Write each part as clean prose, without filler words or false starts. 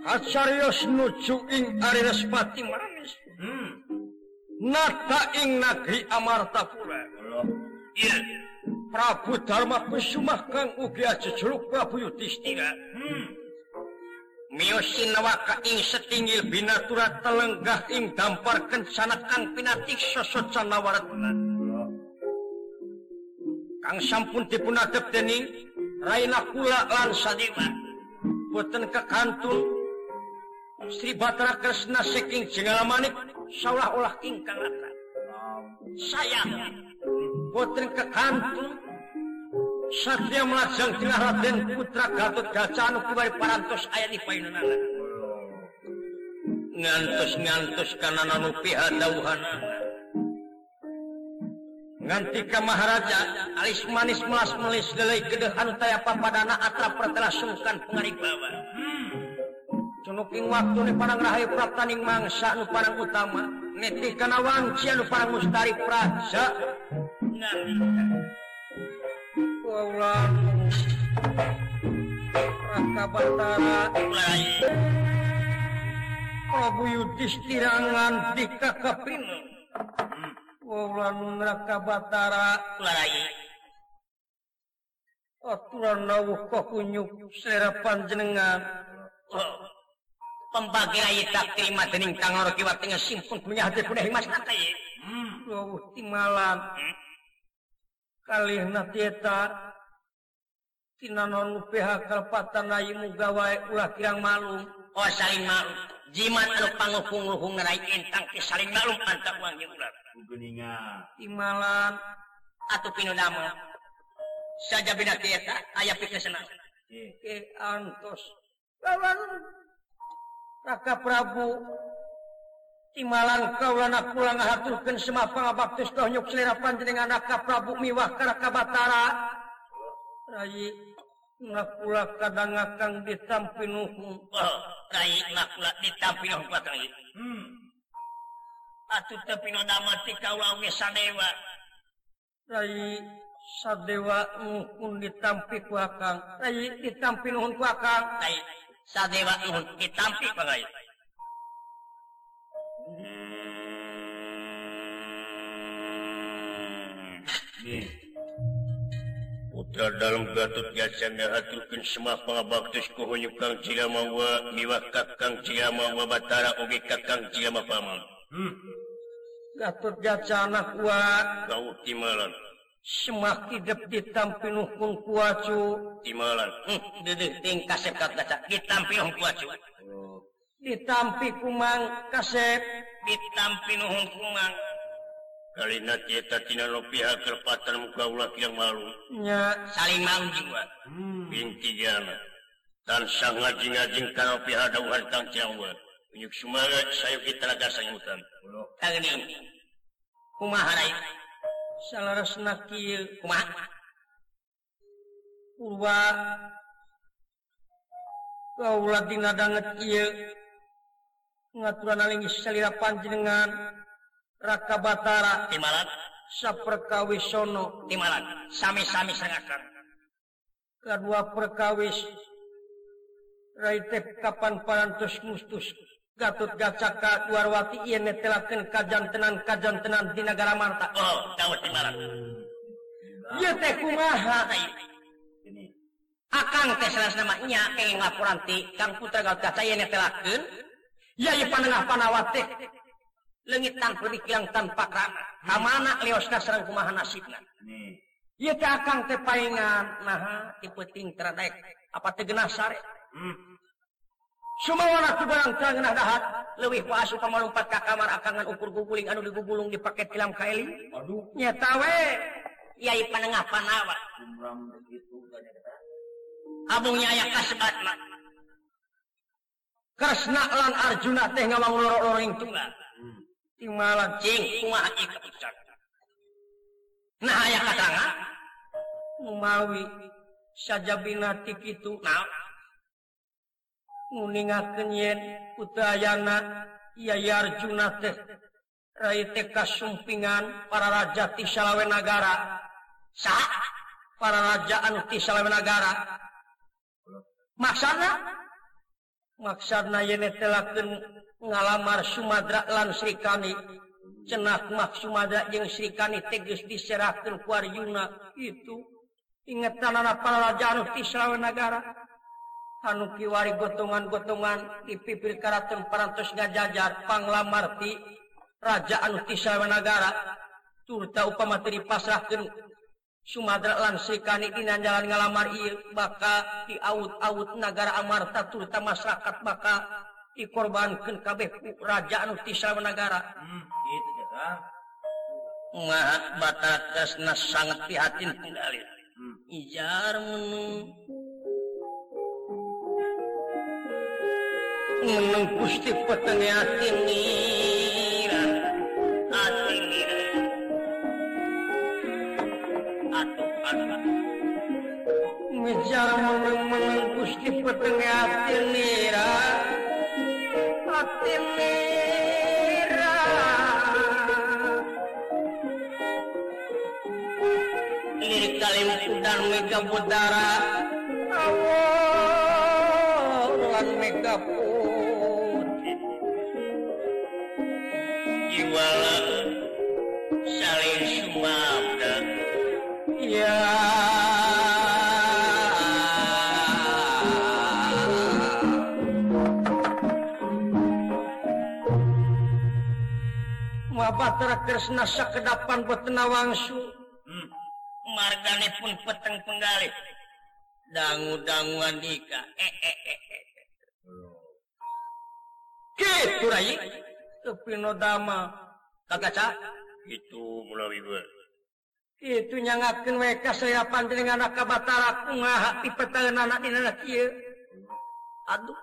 Acarios nuju ing Arirespati manis. Nata ing negeri Amartapura. Iya. Prabu Dharma Kusuma kang ugi ajejuluk Prabu Yudhistira. Miosin nawaka ing setinggil binatura telenggah ing dampar kencana kang pinatik sosocan nawaratna. Kang sampun dipunadep dening Raina Kula lan Sadewa. Boten kekantun Sri Batara Kresna saking Jengalamanik seolah-olah ingkang rata. Sayang boten kekantun Satria melajang tingah Raden Putra Gatot Kaca anu kuwari parantos aya di payunana. Ngantos kana anu pihadauhanana. Nganti ka Maharaja alis manis melas melis deuleuy gedeuhan taya papadana atra pertela sungkan pangaribawa. Cunuking waktu ni parang rahayu praptaning mangsa anu parang utama netih kana wanci anu parang mustari praja Kaulah Raka Batara Prabu Yudhistira nganti kakapina Kaulah Raka Batara aturan nawuh kakunyuk selera panjenengan pembagi rai tak terima dening Kang Ora Kiwat tengah simpun punya hati punah mas nata ye. Timalan. Kalih natieta tinanon PH kalpatan rai mugawae ulah kirang malum. Oh saling malum. Jimat anu panguhung-uhung rai entang ke saling malum antak uang jeung ulah. Geuninga. Timalan atuh pinudama. Saja bina tieta aya pikesna. Antos. Lawan Raka Prabu timalan kaulana kula ngahaturkeun semua pangabaktus kahnyuk selera panjenengan Raka Prabu miwah ka Raka Batara. Rai ngakula kadang ngakang ditampi nuhung. Rai ngakula ditampi nuhung ka Rai. Atuh teu pinodama ti kaula we Sadewa. Rai Sadewa nuhun ditampi ku akang. Rai ditampi nuhun ku akang. Rai Sadewa nuhun ditampi pangai. Putra dalam Gatot Kaca ngahaturkeun semua pangabaktus kuhunyuk Kang Cilamawa miwah Kakang Cilamawa Batara oge Kakang Cilama Paman. Gatot Kaca anak wa kau timalan. Semak hidup ditampi nuhun kuacu timalan. Dedeh ting kasep Kaca ditampi nuhun kuacu. Ditampi kumang kasep ditampi nuhun kumang. Kalina tieta tina no pihak kerpatan muka ulah yang malu. Nya saling malu jiwa. Binti jana. Dan sang ngajing-ngajing kana pihak dauhan Kang Cilamawa. Unyuk sumaga sayu kita laga sanyutan. Tageni. Kumaha rai? Salarasna kieu kumaha? Purwa kaula dina danget kieu ngaturan alingis salira panjenengan Raka Batara timalan saperkawis sono timalan sami-sami sangakan kadua perkawis rai teh kapan parantos mustus Gatot Kaca ka Dwarwati ieu netelakeun kajantenan di nagara Marta. Oh, dawet timalan. Ieu teh kumaha ai? Akang teh salasna mah nya kenging laporan ti Kang Putra Gatot Kaca ieu netelakeun yai panengah panawat teh leungit tanpa dikilang tanpa krana. Kamana leosna sareng kumaha nasibna. Ieu teh akang teh paengan naha ti peuting tradek apa teh geunah sare. Sumawana tu barang tangenah dahat leuwih pasu pamalumpat ka kamar akangan ukur guguling anu digugulung dipake tilam kaeli. Aduh nya tawe yai panengah panawat. Abungnya aya kasebat mah. Kresna lan Arjuna teh ngawang loro-loring tunggal. Timalan cing kumaha ieu kapucat. Nah aya katerangan umawi sajabina ti kitu naon nguningakeun yen Utayana Yai Arjuna teh rai teh kasumpingan para raja ti salawe nagara. Saha? Para raja anu ti salawe nagara. Maksana maksudna yen telakeun ngalamar Sumadra lan Srikani cenah mah Sumadra jeung Srikani teges diserahkeun ku Arjuna itu ingetanana para raja anu ti Srawanagara anu kiwari gotongan-gotongan dipipir karaton parantos ngajajar panglamar ti raja anu ti Srawanagara turta upama teu dipasrahkeun Sumadra lan Srikani dina jalan ngalamar ieu baka diaut-aut nagara Amarta turta masyarakat baka dikorbankeun kabeh ku raja anu ti Srawanagara. Gitu ya. Mah batakasna sangat prihatin tinggali. Ijar meneng Gusti petenge atinira ngejar meneng Gusti petenge atinira lirik kalim dan mega budara awan mega putih Jiwala saling sumabda. ya Mabatra Kresna sakedapan betena wangsu Margane pun peteng penggalih. dangu-danguan dika gitu Rai Tepino Dama kagaca Itu melalui gue. itu nyangakeun we kasaya panjenengan ka Batara kumaha ti petaeunana dina kieu aduh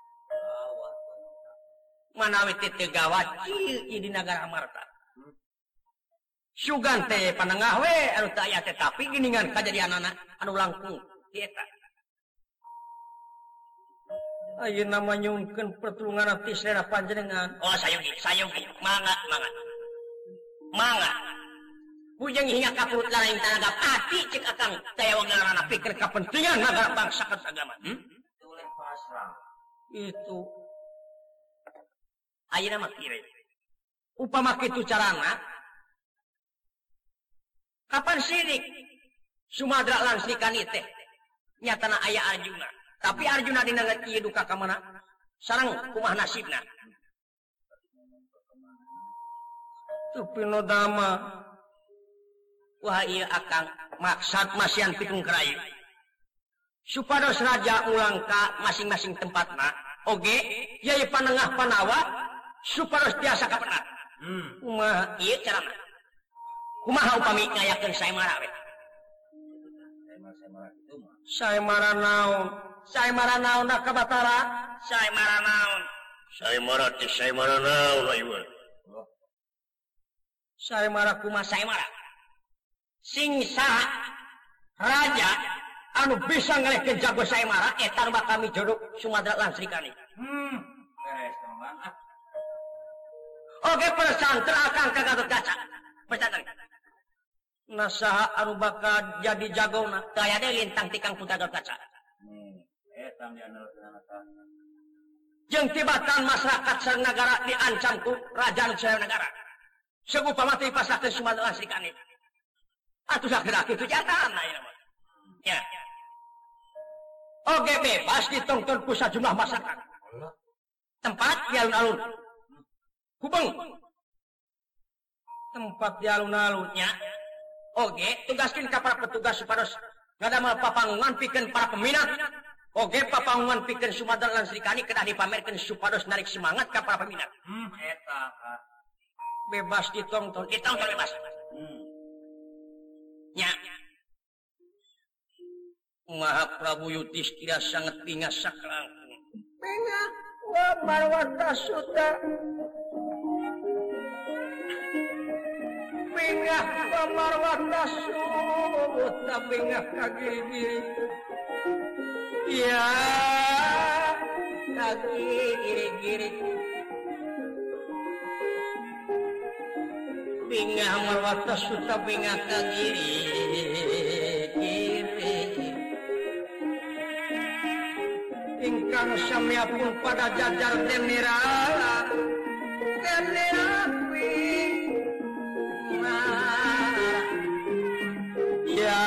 manawi teh gawat ieu di nagara Amarta sugan teh panengah we anu teu aya teh tapi geuningan kajadianana anu langkung eta ayeuna mah nyungkeun pertulungan ti selera panjenengan Oh sayugi. Mangga. Bujang hingga ka perut lain tanaga pati cek akang taya wangarana pikir kepentingan nagara bangsa agama. Tulen pasrah. Itu ayeuna mah kieu. Upama kitu carana kapan sirik Sumadra lan Srikani teh nyatana aya Arjuna. Tapi Arjuna dina kieu duka ka mana? Sareng kumaha nasibna? Tupino Dama. Wah ieu akang maksad masian pitung kerayu. Supados raja ulang ka masing-masing tempatna. Oge, yai panengah panawa supados tiasa kapenat. Kumaha ieu carana? Kumaha upami ngayakeun saemara we? Saemara naon? Saemara naon ka Batara? Saemara naon? Saemara naon ayeuna. Saemara kumaha saemara? Sing saha raja anu bisa ngalehkeun jago saemara eta nu bakal mijodok Sumadra lan Srikani. Beres teman. Oge pesantren akang ka Gatotkaca. Pesantren. Nasaha anu bakal jadi jagona teu aya deui lintang ti Kang Putra Gatotkaca. Eta dianeukeun Jeung tibatan masyarakat sareng nagara diancam ku raja anu Srawanagara. Segupama teh dipasrahkeun Sumadra lan Srikani. Atuh sakira kitu jatan ayeuna mah. Ya. Oge bebas ditonton ku sajumlah masyarakat. Tempat di alun-alun. Hubung. Tempat di alun-alunnya. Oge tugaskeun ka para petugas supados ngadamel papangungan pikeun para peminat. Oge papangungan pikeun Sumadra lan Srikani kedah dipamerkeun supados narik semangat ka para peminat. Eta. Bebas ditonton bebas. Nya. Maha Prabu Yudhistira sangat pingas saklangkung. Pingas wa marwata suta. Pingas wa marwata suta pingas kagiri-giri. Ya, kagiri-giri. Pingas marwata suta pingas kagiri. ingkang samyapun pada jajar tenera ya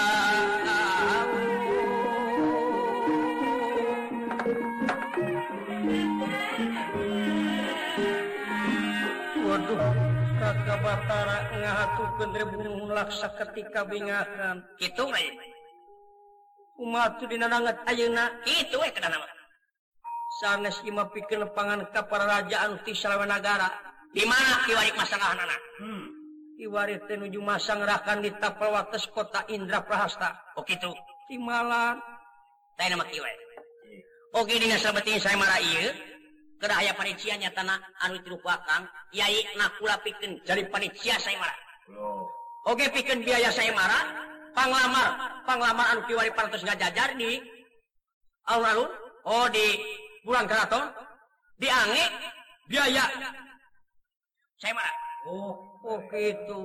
waduh Raka Batara ngahatukeun rebung laksa ketika bingakan kitu we umat dina nanget ayeuna kitu we kana mah sanes imah pikeun pangan ka para raja anu ti Salawanagara di mana kiwari masangahana kiwari teh nuju masang rakan di tapel wates kota Indraprahasta oh kitu timalan teh nama kiwari oke dina sabeting saya marah ieu keur aya panitia nyatana anu tilupakan yai nakula pikeun jadi panitia saya marah oke pikeun biaya saya marah panglamar anu kiwari parantos ngajajar di alun-alun oh di bulan keraton diange biaya saya marah oh gitu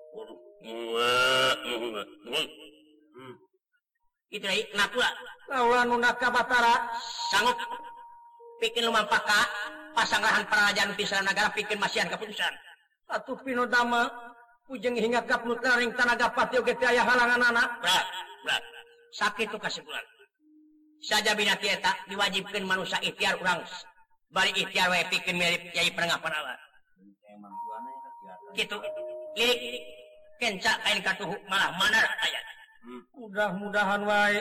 itu deui nakula lawan Naka Batara sanggup bikin lumampaka pasanggrahan parajaan di Salawanagara bikin masihan keputusan atuh pinodama ujeng hingga kapnu taring tanaga pati oge teh aya halanganana berat sakit tuh kasih saja binati eta diwajibkeun manusia ikhtiar urang bari ikhtiar we pikeun mirip Kyai Perengapan Allah kitu lirik kenca kain katuhu malah manar aya mudah-mudahan wae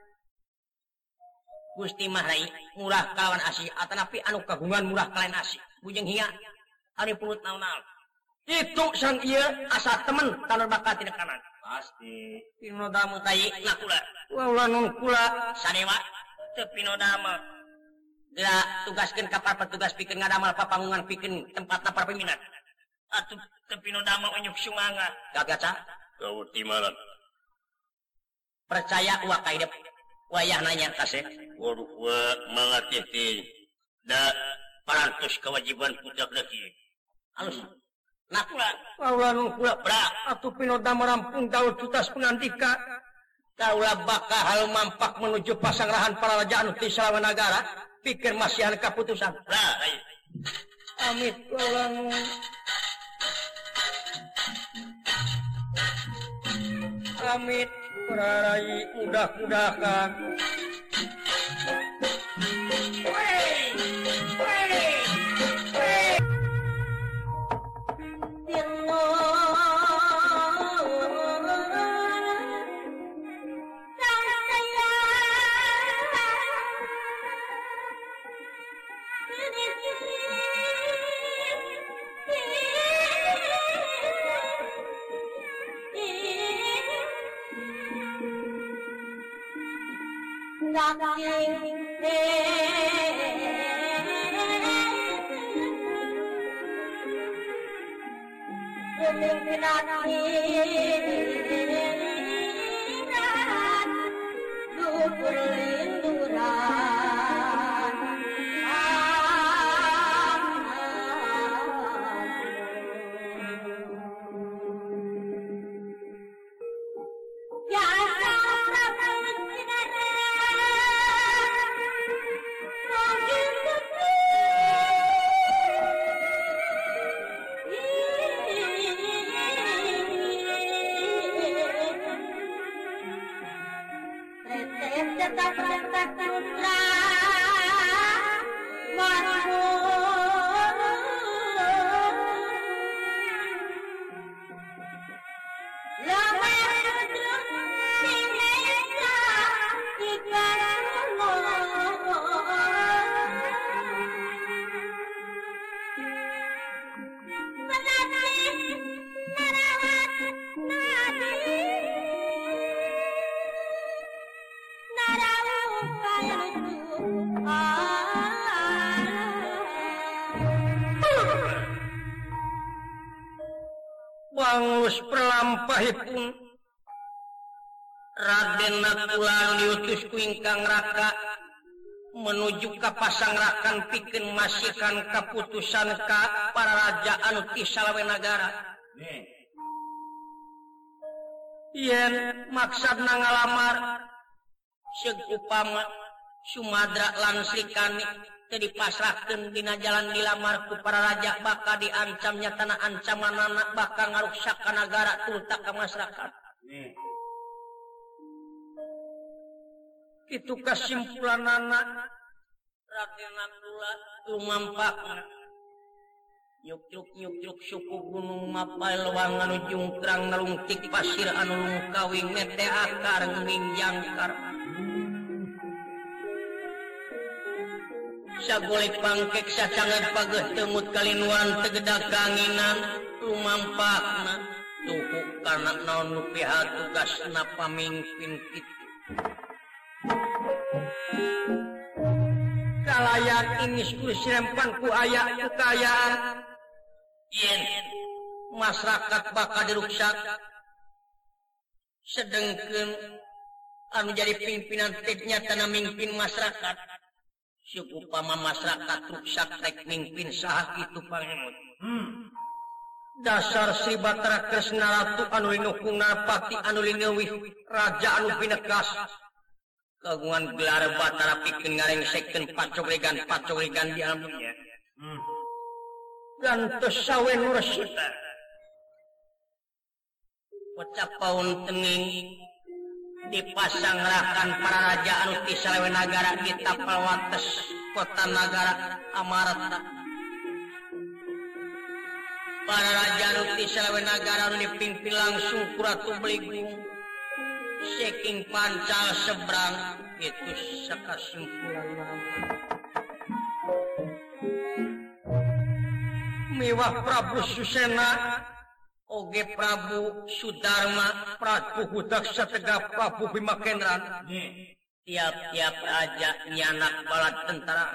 Gusti mah rai murah kalawan asih atanapi anu kagungan murah kalawan asih bujeng hinga ari pulut naon-naon itu sang ieu asa temen tanur bakat tina kanan pasti pinodamu tai nakula ulah nun kula sadewa teu pinodama geura tugaskeun ka para petugas pikeun ngadamal papangungan pikeun tempatna para pimpinan atuh teu pinodama unyuk sumanga gagaca kau timalan percaya uak kaidep wayah nanya kasih waduh wa mangatih teh da parantos kewajiban budak lagi halus nakula ulah nun kula bra atuh pinodama rampung daud tutas pengandika kaulah bakal mampak menuju pasanggrahan para raja anu ti Salawanagara pikir masihan keputusan lah amit kaulah amit prarai mudah-mudahan Bangus pralampahipun Raden Nakula diutus ku ingkang Raka menuju ka pasangrakan pikeun masihkan kaputusan ka para raja anu ti Salawanagara. Yen maksudna ngalamar seug upama Sumadra lan Srikani teu dipasrahkeun dina jalan dilamar ku para raja bakal diancam nyatana ancamanana bakal ngaruksak ka nagara tulta ka masyarakat. Kitu kasimpulanana Raden Abdullah lumampakna nyuk-nyuk suku gunung Mapai lewang anu jungkrang nalungtik pasir anu lungkawing mete akar mingjangkar sagolek pangkek sacangan pageh temut kalinuan tegedak kanginan lumampakna tuku karena naon nu pihak tugasna pamimpin kitu kalayan ingis kusirempan ku aya kekayaan yen masyarakat bakal diruksak sedengkeun anu jadi pimpinan tetnya tanah mimpin masyarakat suku pama masyarakat ruksak rek mimpin saha kitu pangemut dasar Sri Batara Kresna Ratu anu linukung narpati anu lineuwih raja anu pinekas kagungan gelar Batara pikeun ngarengsekeun pacogregan di alam dunia gantos sawe nu resita pacapaun teuning dipasanggrakan para raja anu ti salewe nagara di tapal wates kota nagara Amarta para raja anu ti salewe nagara anu dipimpin langsung ku Ratu Beligung saking pancal seberang itu sakasimpulan miwah Prabu Susena oge Prabu Sudarma Prabu Hudaksa Tegap Prabu Bimakendran tiap-tiap raja nyanak balad tentara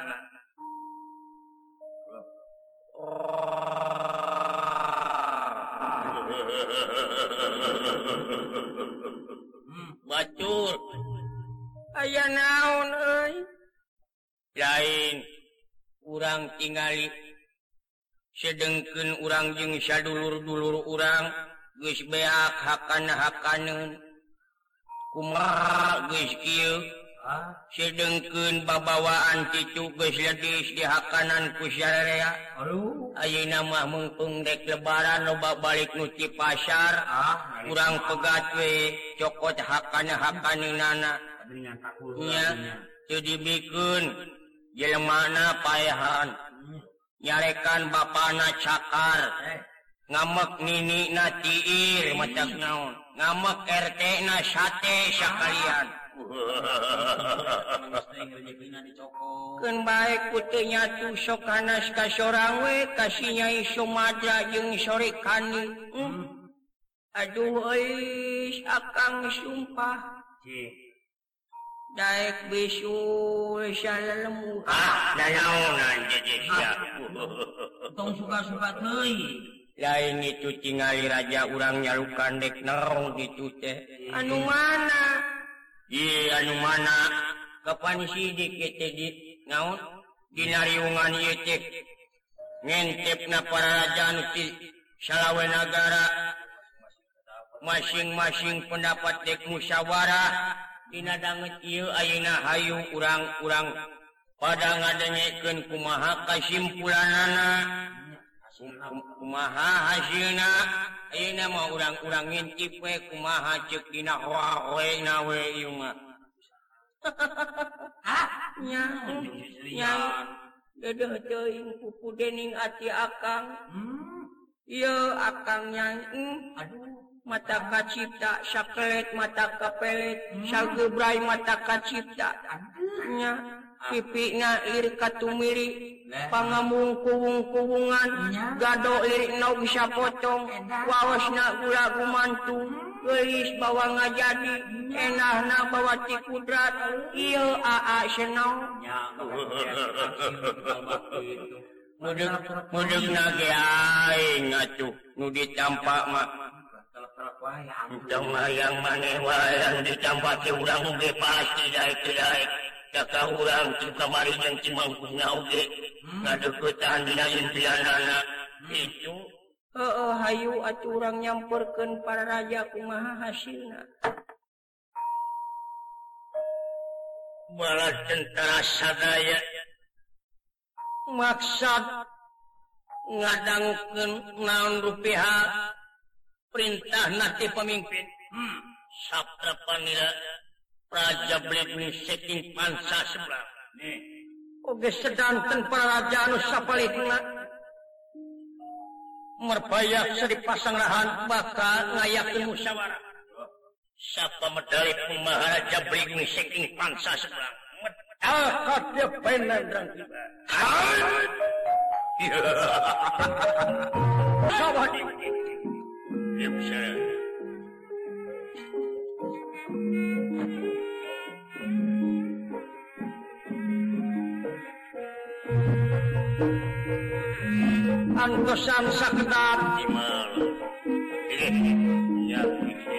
bacur aya naon euy lain urang tingali sedengkeun urang jeung sadulur-dulur urang geus beak hakana-hakaneun kumaha geus kieu sedengkeun babawaan cicu geus ledis di hakanan ku sararea ayeuna mah meungpeung dek lebaran loba balik nu ti pasar urang pegat we cokot hakana-hakaneunana nya teu dibikeun jelemana paehan nyarekan bapana cakar ngamek nini na tiir macam naon ngamek RT na sate sakalian keun bae ku nyatu sok hanas ka sorang we kasih Nyai Sumadra jeung Srikani aduh euy akang sumpah daek bisul salalemu naon jadi sia tong suka-suka teuing lain itu tingali raja urang nyalukan dek naon kitu teh anu mana anu mana kapan sidik teh di naon dina riungan ieu teh ngentepna para raja anu ti salawe nagara masing-masing pendapat dek musyawarah dina danget ieu ayeuna hayu urang-urang pada ngadengekeun kumaha kasimpulanana kumaha hasilna ayeuna mah urang-urang ngintip we kumaha ceuk dina hoaweuna we ieu mah nya dedeh teuing pupu dening ati akang ieu akang nyai aduh mata kacipta sakelet mata kapelet sagebrai mata kacipta nya pipina lirik katumiri pangamung-kuwung-kuwungan gado lirik nau bisa potong waosna gula gumantung geulis bawa ngajadi enahna bawa ti kudrat ieu aa senau mudeg nage aing atuh nu ditampak mah yang maneh wayang dicampake urang oge pasti daek-daek caka urang kamari jeung cimangkungna oge ngadeuketan dina impianana itu heueuh hayu atuh urang nyamperkeun para raja kumaha hasilna bala tentara sadaya maksud ngadangkeun naon rupiah perintah nanti pemimpin sabda panira Raja Bledni saking pansa sebelah oge sedanten para raja anu sapalitna merbayak sadipasang rahan bakal ngayakeun musyawarah sapa medali Maharaja Bledni saking pansa sebelah kadya penandrang tiba sahabat ya bisa antosan sakedap timal ya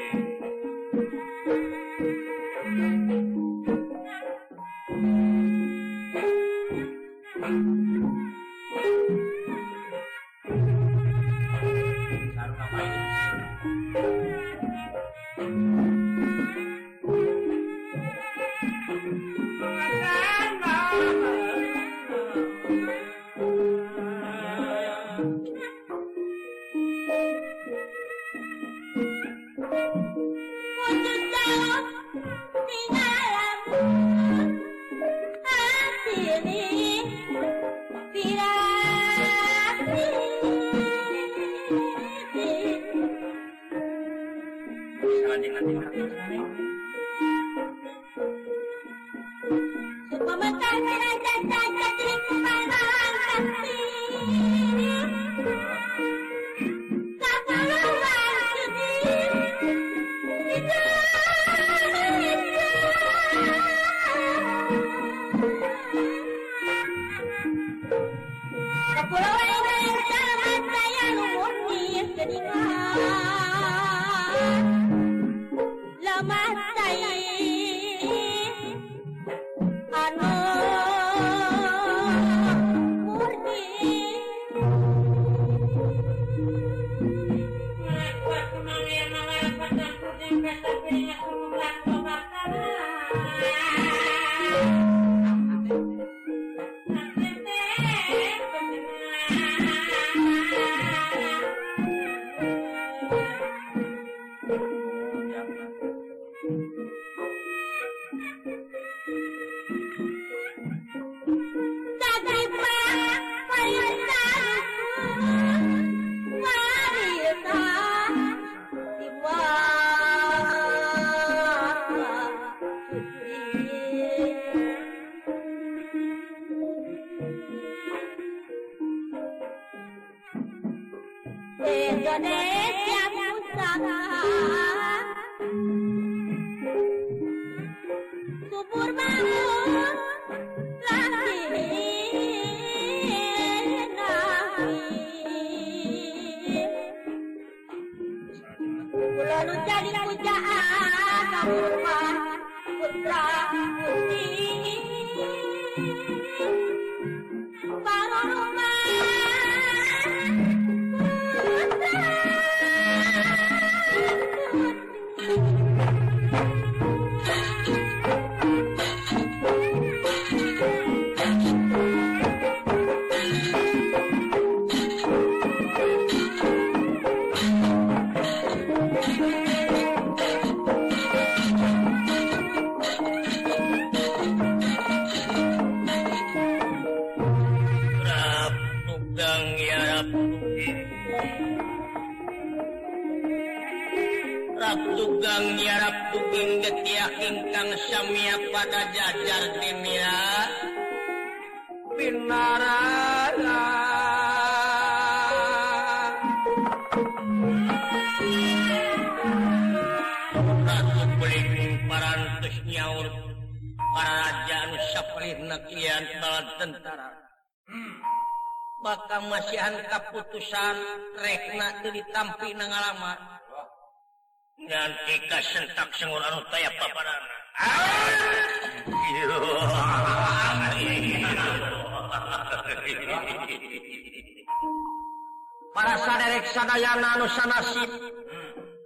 Indonesia pusaka subur bangun lalu jadi pujaan kamu putra putih para rumah Tugang nyarap tuging getiak ingkang samia pada jajar timira binarana Ratu Bledni parantos nyaur para raja anu sapalihna kian bala tentara bakal masihan kaputusan rekna teu ditampi na ngalama nganti kasentak sengur anu taya paparana. Para saderek sadayana anu sanasib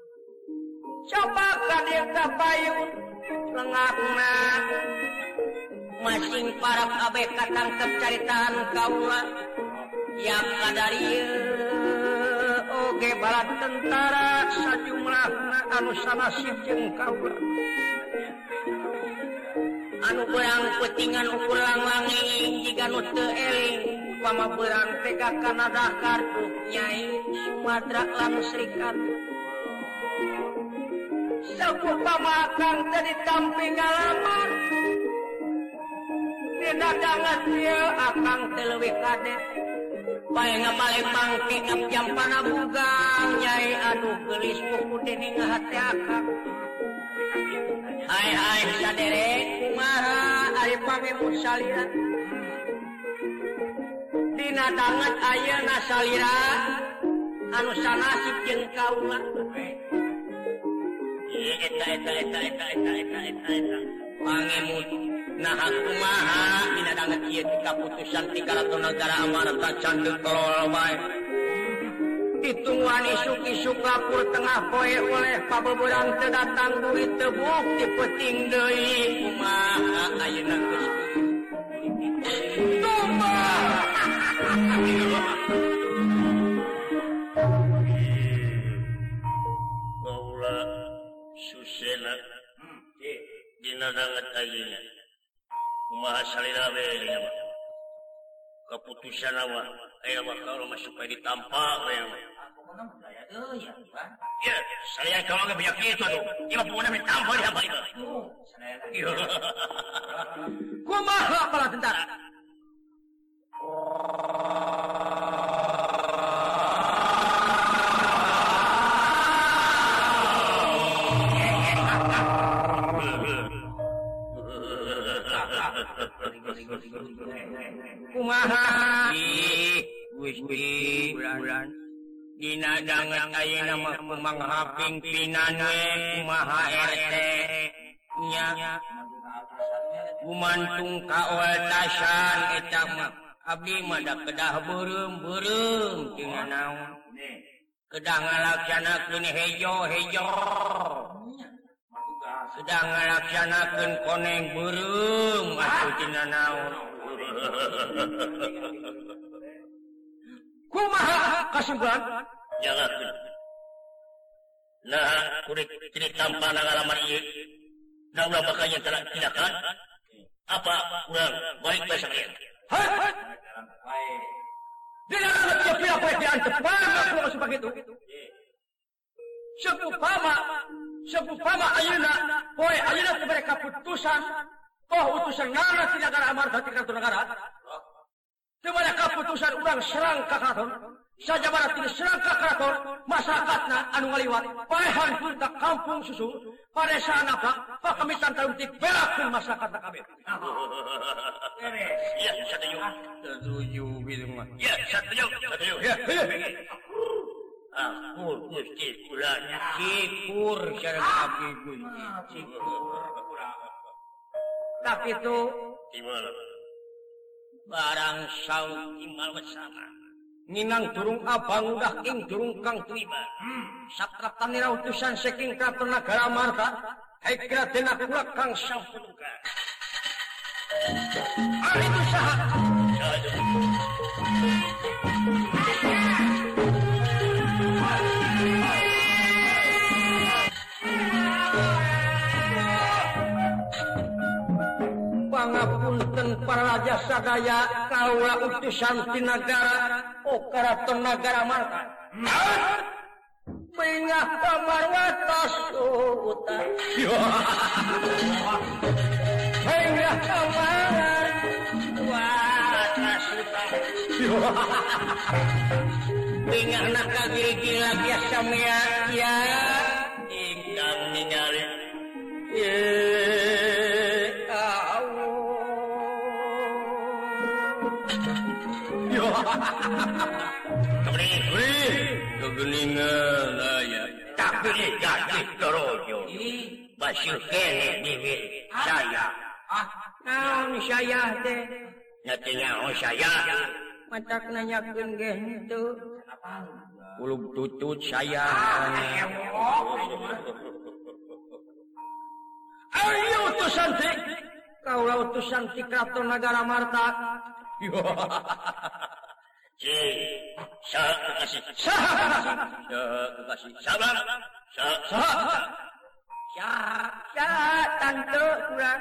coba ka dieu kapayun lengahna masing para kabeh katangkep caritaan kaula yang kadarieu oge bala tentara sajumlahna anu sanasib jeung kaula anu beurang peutingan ukur langlanging jiga nu teu eling upama beurang tega kana dakar Nyai Sumadra lan Serikat sakupama kang teu ditampi ngalaman dina dangat ieu akang teu leuwih kade bae ngapaleng mangke ngapjampana bugang Nyai anu geulis puku dening hate akang hai saderek kumaha ari pangemut salira dina dangat ayeuna salira anu sanasib jeung kaula eta pangemut nah kumaha dina dangat ieu ti kaputusan ti Karatonagara Amarta candeuk kelol bae ditungguan isuk-isuk lapur tengah poe oleh pabebeurang teu datang duit teu bukti peuting deui kumaha ayeuna geus kaula susena dina dangat ayeuna kumaha salira we dina keputusan mah aya mah kaula mah supaya ditampa we ya saya kalau nggak banyak itu tuh dia punya ditampa di apa itu kumaha para tentara kumaha Gusti bulan dina dangat ayeuna mah kumaha pingpinan we kumaha RT nya gumantung ka waltasan eta mah abdi mah da kedah beureum teu naon kedah ngalaksanakeun hejo sedang ngalaksanakeun koneng beureum atuh teu naon kumaha kasimpulan jangakeun nah kudu ditampana ngalaman ieu da ulah bakal tindakan apa urang balik bae sakalian dina dangat ieu pira poe diantep kumaha masuk begitu Sepupama ayeuna poe ayeuna teu bere kaputusan utusan ngana ti Nagara Amarta ti Kartonagara teu bere kaputusan urang serang ka karaton sajabana teu serang ka karaton masyarakatna anu ngaliwat paehan pun ka kampung susu paresana pakamitan taun ti belakeun masyarakatna kabeh ya setuju bilang mah ya setuju ya ampun Gusti kula syukur sareng abdi Gusti tapi itu gimana barang saung imal bersama ninang durung abang udah ing durung kang tuiba sakratanira utusan saking Kartonagara Amarta haikra dena kula kang sampunuka ari itu saha pangapunten para raja sadaya kaula utusan ti nagara Karatonagara Amarta Bengah pamarwatos uta Bengah pamarwatos uta Bengah nak kagil-gil biasa mea ya ingkang ningali kegeningan aya tapi jadi terojo basir kene bibir saya naon saya teh nyatinya saya matak nanyakeun ge henteu ulug tutut saya ayo utusan teh Kaulah utusan ti Kraton Nagara Marta. Sabar. Tante kurang.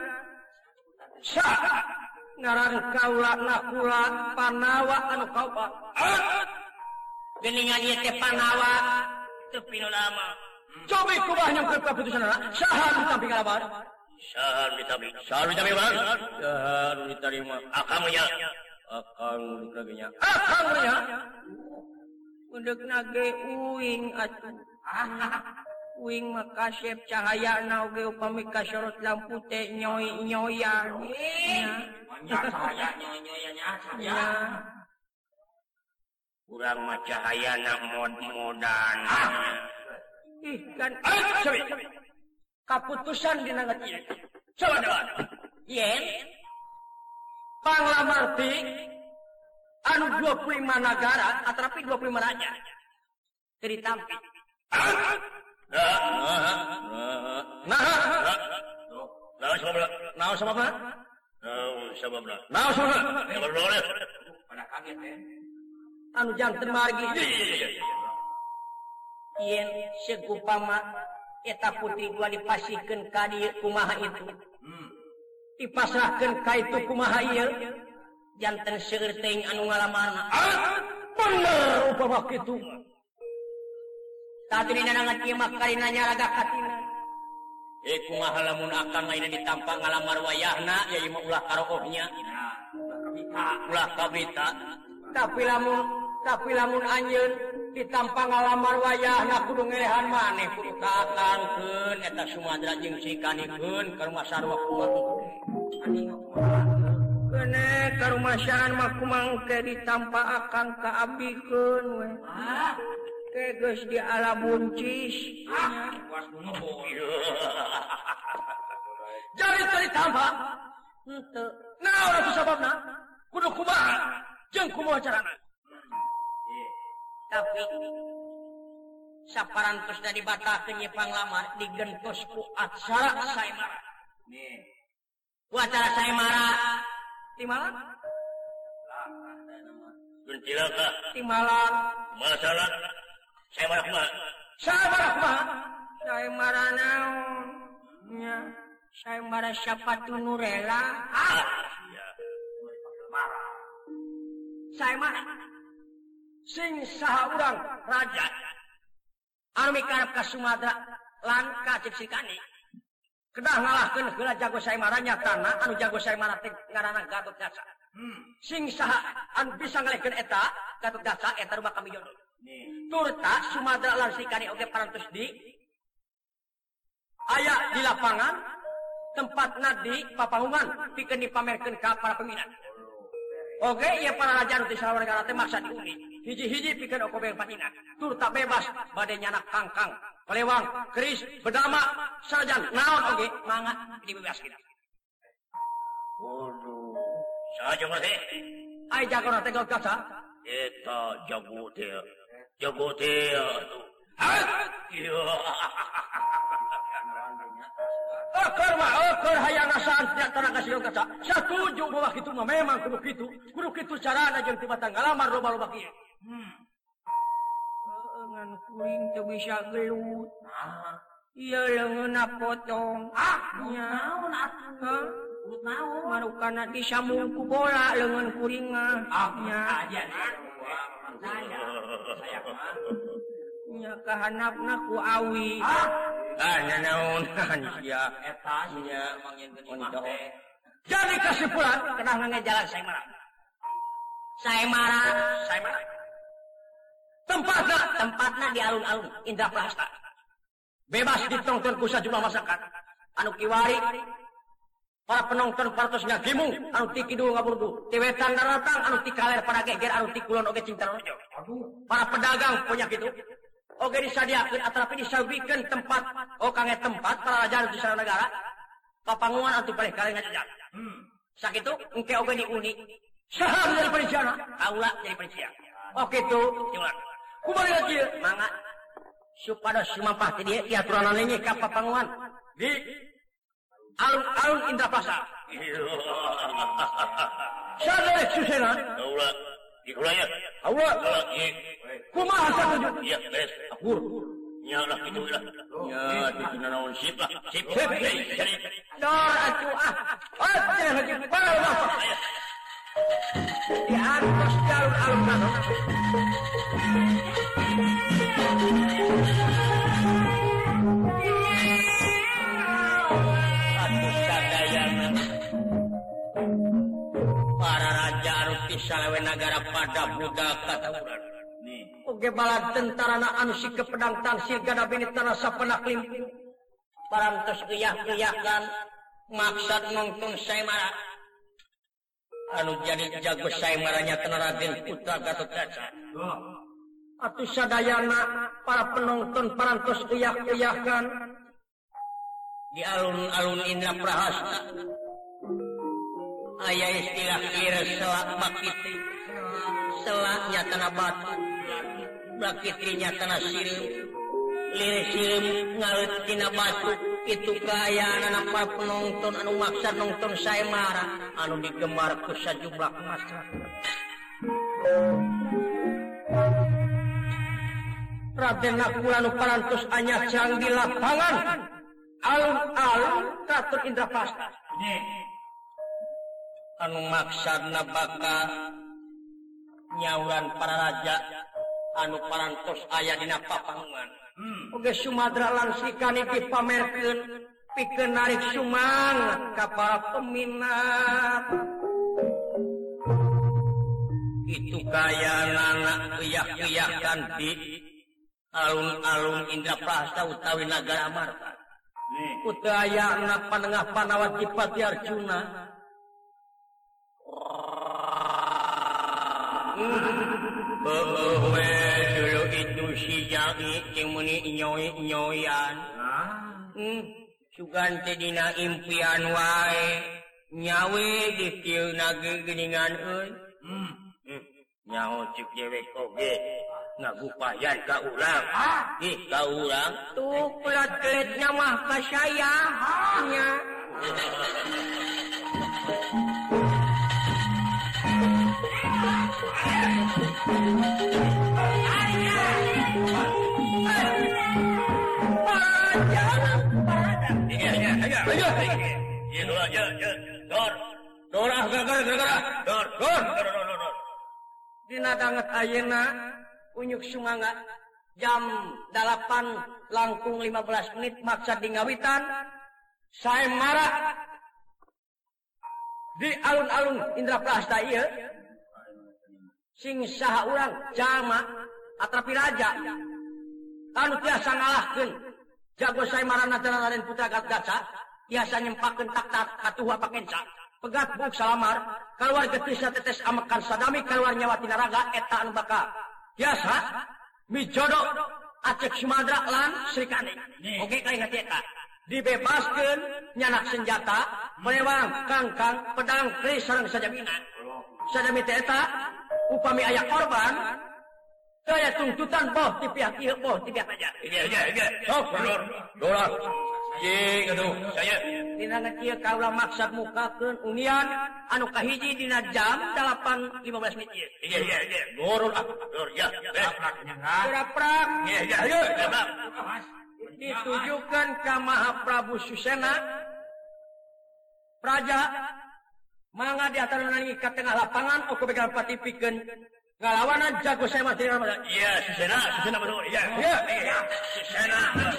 Ngaran kaulah nakula Panawa anu kaupa. Geningan ieu teh Panawa teu pinu lama. Cobi kubah yang keputusanna. Saha tampi kalabar. Sahan ditami bang. Sahan diterima. Akang nya. Undek nage uing atuh. Uing makasep cahaya na oge upami kasorot lampu teh nyoy-nyoyan. Cahaya nyoy-nyoyannya. Urang mah cahayana mod-modan. Ih kan. Kaputusan dina ieu. Coba. Yen Panglamarti anu 25 negara atrapi 25 raja. Teu ditampi. Naon sababna? Pada kaget ya. Anu janten margi. Yen segupama eta putri gua dipasihkeun ka dieu kumaha itu. Dipasrahkeun ka itu kumaha ieu. Janten seueur teuing anu ngalamarna. Bener upama kitu. Tadi nana kieu mah karina nyaraga katina. Kumaha lamun akang ayeuna ditampa ngalamar wayahna ya ieu mah ulah karohnya. Ulah kabita. Tapi lamun anjeun ditampa ngalamar wayahna kudu ngelehan maneh kudu kakangkeun eta Sumadra jeung sikanikeun ka rumah sarua kumaha. Kene ka rumah sarana mah kumaha ditampa akang ka abdikeun we. Ke geus di ala buncis. Jadi teu ditampa. Henteu. Naon atuh sababna? Kudu kumaha? Jeung kumaha carana? Tapi saparantosna dibatalkeun ieu panglamar digentos ku acara saemara. Ku acara saemara di mana? Gencilaka. Di Malang. Masalah saemara kumaha? Saemara naon? Nya, saemara sapatu nu rela. Saemara sing saha urang raja anu mikarep ka Sumatera lan ka Ciksikani kedah ngalahkeun heula jago saemara nyatana anu jago saemara teh ngaranna Gatotkaca. Sing saha anu bisa ngalehkeun eta Gatotkaca eta rumah kami jodoh. Turta Sumatera lan Ciksikani oge parantos di aya di lapangan tempatna di papangungan pikeun dipamerkeun ka para peminat. Oke, ieu para raja anu ti salawar negara teh maksa diundi. Hiji-hiji pikeun okobe patina. Turta bebas bade nyanak kangkang, pelewang, keris, bedama, sajan naon oge mangga dibebaskeun. Waduh. Saja mah teh. Ai jagona teh Gatotkaca. Eta jago teh. Jago teh. Keur hayang nasaan diantara ka Gatotkaca. Satuju bahwa kitu mah memang kudu kitu. Kudu kitu carana jeung tibatan ngalamar loba-loba kieu. Ngan kuring teu bisa gelut. Ieu leungeunna potong. Nya. Naon atuh? Naon? Marukana disambung ku bola leungeun kuring mah. Nya. Nya kahanapna ku awi. Naon sia eta nya mangyen geuning teh. Jadi kesimpulan kedah ngajalan saemara. Tempatna di alun-alun Indraprasta. Bebas ditonton ku sajumlah masyarakat. Anu kiwari para penonton parantos ngagimung anu ti kidul ngaburdu. Ti wetan daratang anu ti kaler pada geger anu ti kulon oge cintarojo. Para pedagang punya kitu. Oge disadiakeun atrapi disabikeun tempat kange tempat para raja anu ti sareng negara. Papanguan anu ti paleh kali ngajajak. Sakitu engke oge diuni. Saha jadi perinciana? Kaula jadi perincian. Oke tuh, gimana? Kumaha kieu? Mangga supados sumampah ti dieu aturan nanya ka papanguan di alun-alun Indraprasta. Sadar Susena. Ulah. Dikulanya. Allah. Kumaha satuju? Iya, beres. Akur. Nya lah kitu lah. Nya kitu naon sip lah. Sip. Dor atuh ah. Oce lagi parah mah. Di atas jalur alun-alun. Para raja Aruti Salawe Nagara pada budak katauran. Oge bala tentarana anu sikeun pedang tangsir gada benitana sapenak limpu. Parantos geyah-geyahkan maksud nongton Saimara. Anu jadi jago Saimaranya tena Raden Putra Gatotkaca. Atuh sadayana para penonton parantos geyah-geyahkan di alun-alun Indraprahasta. Aya istilah kira selak bakitri. Selaknya tanah batu. Bakitrinya tanah sirim. Lirik sirim ngalut tina batu. Itu kaayaan anak para penonton anu maksa nonton Saimara. Anu digemar ke sajumlah masyarakat. Raden Nakula nu parantos anyar jang di lapangan. Alun-alun Kraton Indraprasta. Anu maksudna bakal nyauran para raja anu parantos aya dina papangan. Oge Sumadra lan Srikani dipamerkeun pikeun narik sumang ka para peminat. Itu kayanana geyah-geyahkan di alun-alun Indraprasta utawi Nagara Amarta. Kudayana panengah Panawati Pati Arjuna. Dulu itu si Jaki yang meni nyoy-nyoyan. Sugan teh dina impian wae nyawe di kieu nage geuningan euy. Nyaho cik dewek oge ngagupayan ka urang. Ih ka urang tuh pelat-pelatnya mah ka saya nya. Dina danget ayeuna unyuk sunganga jam 8 langkung 15 menit maksa di ngawitan Saimara di alun-alun Indraprasta ieu sing saha urang jalma atrapi raja anu tiasa ngalahkeun jago Saimara natana Raden Putra Gatotkaca tiasa nyempakeun tak-tak katuha pakenca pegat buk salamar kaluar getisna tetes amekan sadami kaluar nyawa tina raga eta anu bakal tiasa mijodo Acek Sumadra lan Srikani oge kaingat eta dibebaskeun nyanak senjata melewang kangkang pedang keris sareng sajamina sadami teh eta upami aya korban saya tuntutan boh di pihak ieu boh di pihak aja. Iya. Sok dolar. Cing atuh saya. Dina kieu kaula maksud mukakeun unian anu kahiji dina jam 8.15 menit ieu. Iya. Dorul ah. Dor ya. Prak. Iya. Ayo. Ditujukan ka Mahaprabu Susena. Praja mangga di ataruna ka tengah lapangan oke begal pati pikeun ngalawanan jago saya mati Ramadan. Iya, Susena betul. Iya. Susena.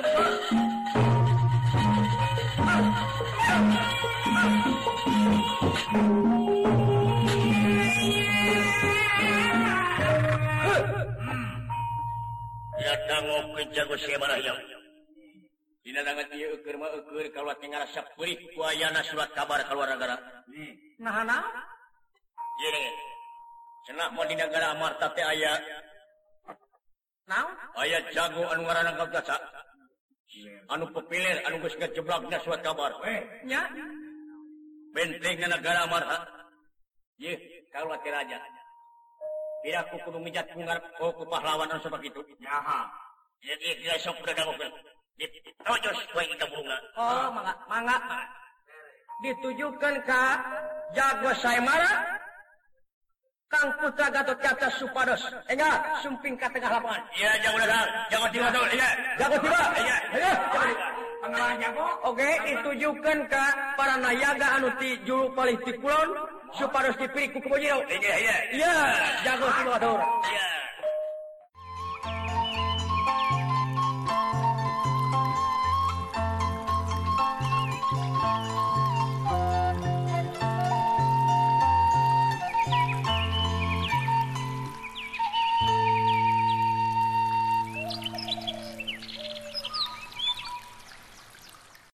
Datang ke jago saya marahnya. Dina danget ieu eukeur mah eukeur kaluar tinggal sapeurih ku ayana surat kabar kaluar negara. Nahana? Ieu cenah mah di Nagara Amarta teh aya naon? Aya jago anu ngaranna Gatotkaca. Anu pepilir anu geus ngajeblakna surat kabar. Nya. Bentengna Nagara Amarta. Ieu kaluar ti raja. Piraku kudu mijat ku pahlawan anu sakitu. Nyaha. Ieu sok dagangukeun. Tojos wae kita burungna. Oh, mangga. ditujukan ke jago Saimara Kang Putra Gatot Kaca Supados. Enggak, sumping ke tengah lapangan. Iya, jago datang. Jago tiba tuh. Iya. Jago tiba. Iya. Ayo. Pengalah jago. Oke, ditujukan ke para nayaga anu ti juru palih ti kulon Supados dipilih ku Kebojiro. Iya. Iya, jago tiba tuh. Iya.